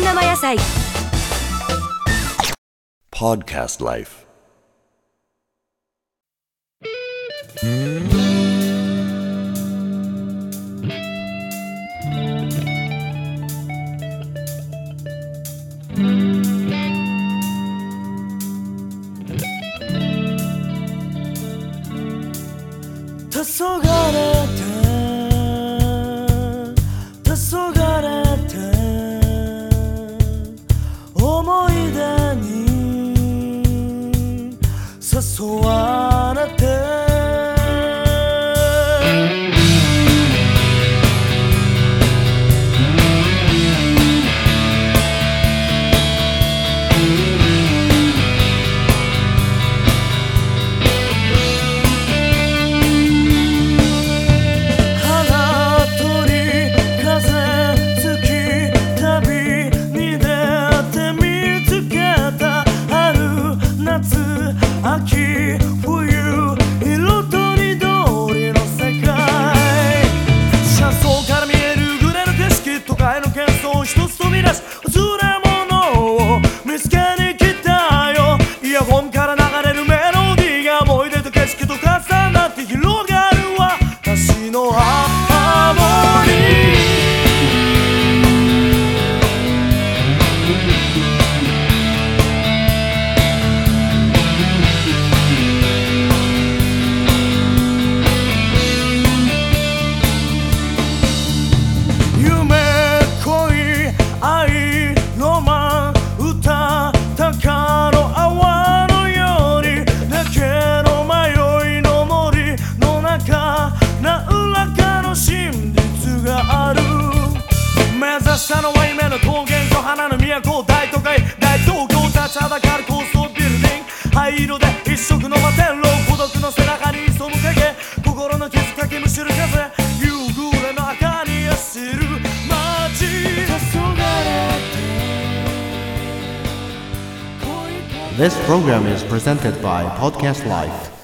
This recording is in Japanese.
生野菜。 Podcast Life. 黄昏て思い出に誘われて秋冬色とりどりの世界、車窓から見えるグレーの景色、都会の喧騒一つ飛び出し忘れ物を見つけに来たよ。イヤホンから流れるメロディーが思い出と景色と重なって広がる私のハーモニー。下のは夢の桃源郷、花の都大都会大東京、立ちはだかる高層ビルディング、灰色で一色の摩天楼、孤独の背中に潜む影、心の傷かきむしる風、夕暮れの赤に走る街。 This program is presented by Podcast Life.